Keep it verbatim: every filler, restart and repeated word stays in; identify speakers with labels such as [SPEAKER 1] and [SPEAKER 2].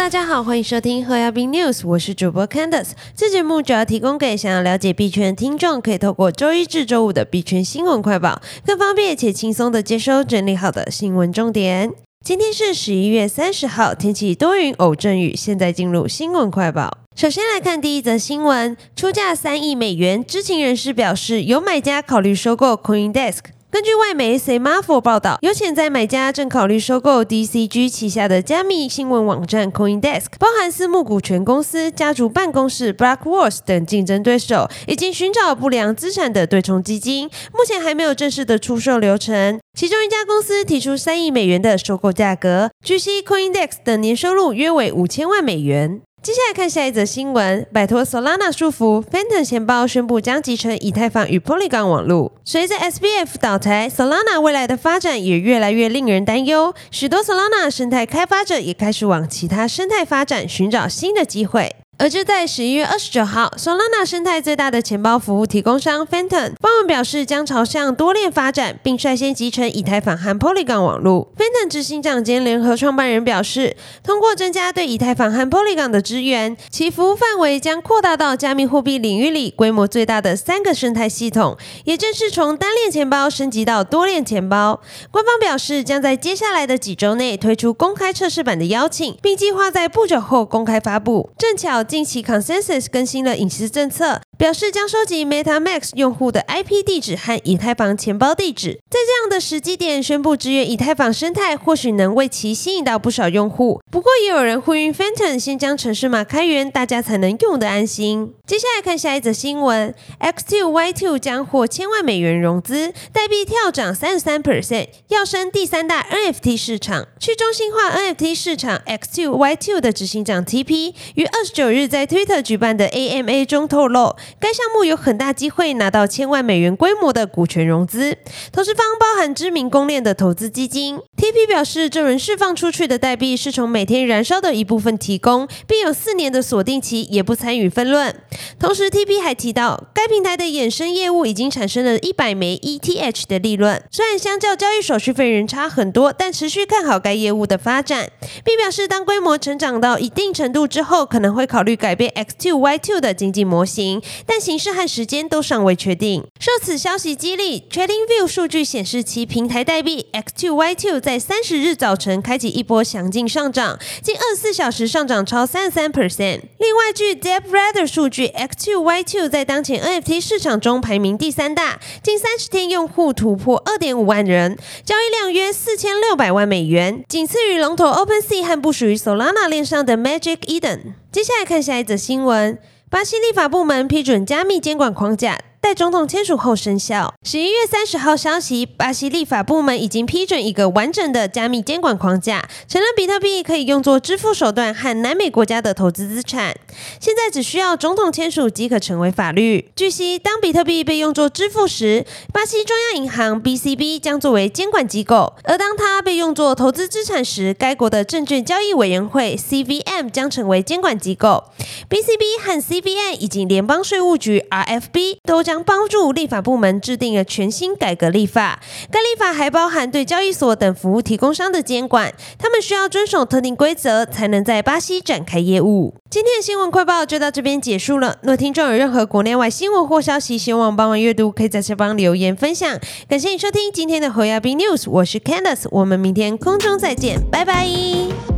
[SPEAKER 1] 大家好，欢迎收听和亚币 News， 我是主播 Candace。这节目主要提供给想要了解币圈的听众，可以透过周一至周五的币圈新闻快报，更方便且轻松的接收整理好的新闻重点。今天是十一月三十号，天气多云偶阵雨。现在进入新闻快报。首先来看第一则新闻，出价三亿美元，知情人士表示有买家考虑收购 CoinDesk。根据外媒 Semafor 报道，有潜在买家正考虑收购 D C G 旗下的加密新闻网站 CoinDesk， 包含私募股权公司、家族办公室 BlackRock 等竞争对手，以及寻找不良资产的对冲基金。目前还没有正式的出售流程。其中一家公司提出三亿美元的收购价格，据悉 CoinDesk 的年收入约为五千万美元。接下来看下一则新闻，摆脱 Solana 束缚 ，Phantom 钱包宣布将集成以太坊与 Polygon 网络。随着 S B F 倒台 ，Solana 未来的发展也越来越令人担忧，许多 Solana 生态开发者也开始往其他生态发展，寻找新的机会。而就在十一月二十九号 ，Solana 生态最大的钱包服务提供商 Phantom 发文表示，将朝向多链发展，并率先集成以太坊和 Polygon 网络。Phantom 执行长兼联合创办人表示，通过增加对以太坊和 Polygon 的支援，其服务范围将扩大到加密货币领域里规模最大的三个生态系统，也正是从单链钱包升级到多链钱包。官方表示，将在接下来的几周内推出公开测试版的邀请，并计划在不久后公开发布。正巧近期 Consensus 更新了隐私政策，表示将收集 MetaMask 用户的 I P 地址和以太坊钱包地址。在这样的时机点宣布支援以太坊生态，或许能为其吸引到不少用户。不过也有人呼吁 Phantom 先将程式码开源，大家才能用得安心。接下来看下一则新闻 ，X 二 Y 二 将获千万美元融资，代币跳涨 百分之三十三， 要升第三大 N F T 市场。去中心化 N F T 市场 X 二 Y 二 的执行长 T P 于二十九日在 Twitter 举办的 A M A 中透露，该项目有很大机会拿到千万美元规模的股权融资，投资方包含知名公链的投资基金。T P 表示，这轮释放出去的代币是从每天燃烧的一部分提供，并有四年的锁定期，也不参与分论。同时 T P 还提到，该平台的衍生业务已经产生了一百枚 E T H 的利润，虽然相较交易手续费仍差很多，但持续看好该业务的发展，并表示当规模成长到一定程度之后，可能会考虑改变 X 二 Y 二 的经济模型，但形式和时间都尚未确定。受此消息激励 ，TradingView 数据显示其平台代币 X 二 Y 二 在三十日早晨开启一波强劲上涨，近二十四小时上涨超 百分之三十三。另外，据 DeepRadar 数据 ，X 二 Y 二 在当前 N F T 市场中排名第三大，近三十天用户突破 二点五万人，交易量约四千六百万美元，仅次于龙头 OpenSea 和部署于 Solana 链上的 Magic Eden。接下来看下一则新闻，巴西立法部门批准加密监管框架，待总统签署后生效。十一月三十号消息，巴西立法部门已经批准一个完整的加密监管框架，承认比特币可以用作支付手段和南美国家的投资资产。现在只需要总统签署即可成为法律。据悉，当比特币被用作支付时，巴西中央银行 B C B 将作为监管机构；而当它被用作投资资产时，该国的证券交易委员会 C V M 将成为监管机构。B C B 和 C V M 以及联邦税务局 R F B 都将帮助立法部门制定了全新改革立法，该立法还包含对交易所等服务提供商的监管，他们需要遵守特定规则，才能在巴西展开业务。今天的新闻快报就到这边结束了。若听众有任何国内外新闻或消息，希望帮忙阅读，可以在下方留言分享。感谢你收听今天的和亚币 News， 我是 Candace， 我们明天空中再见，拜拜。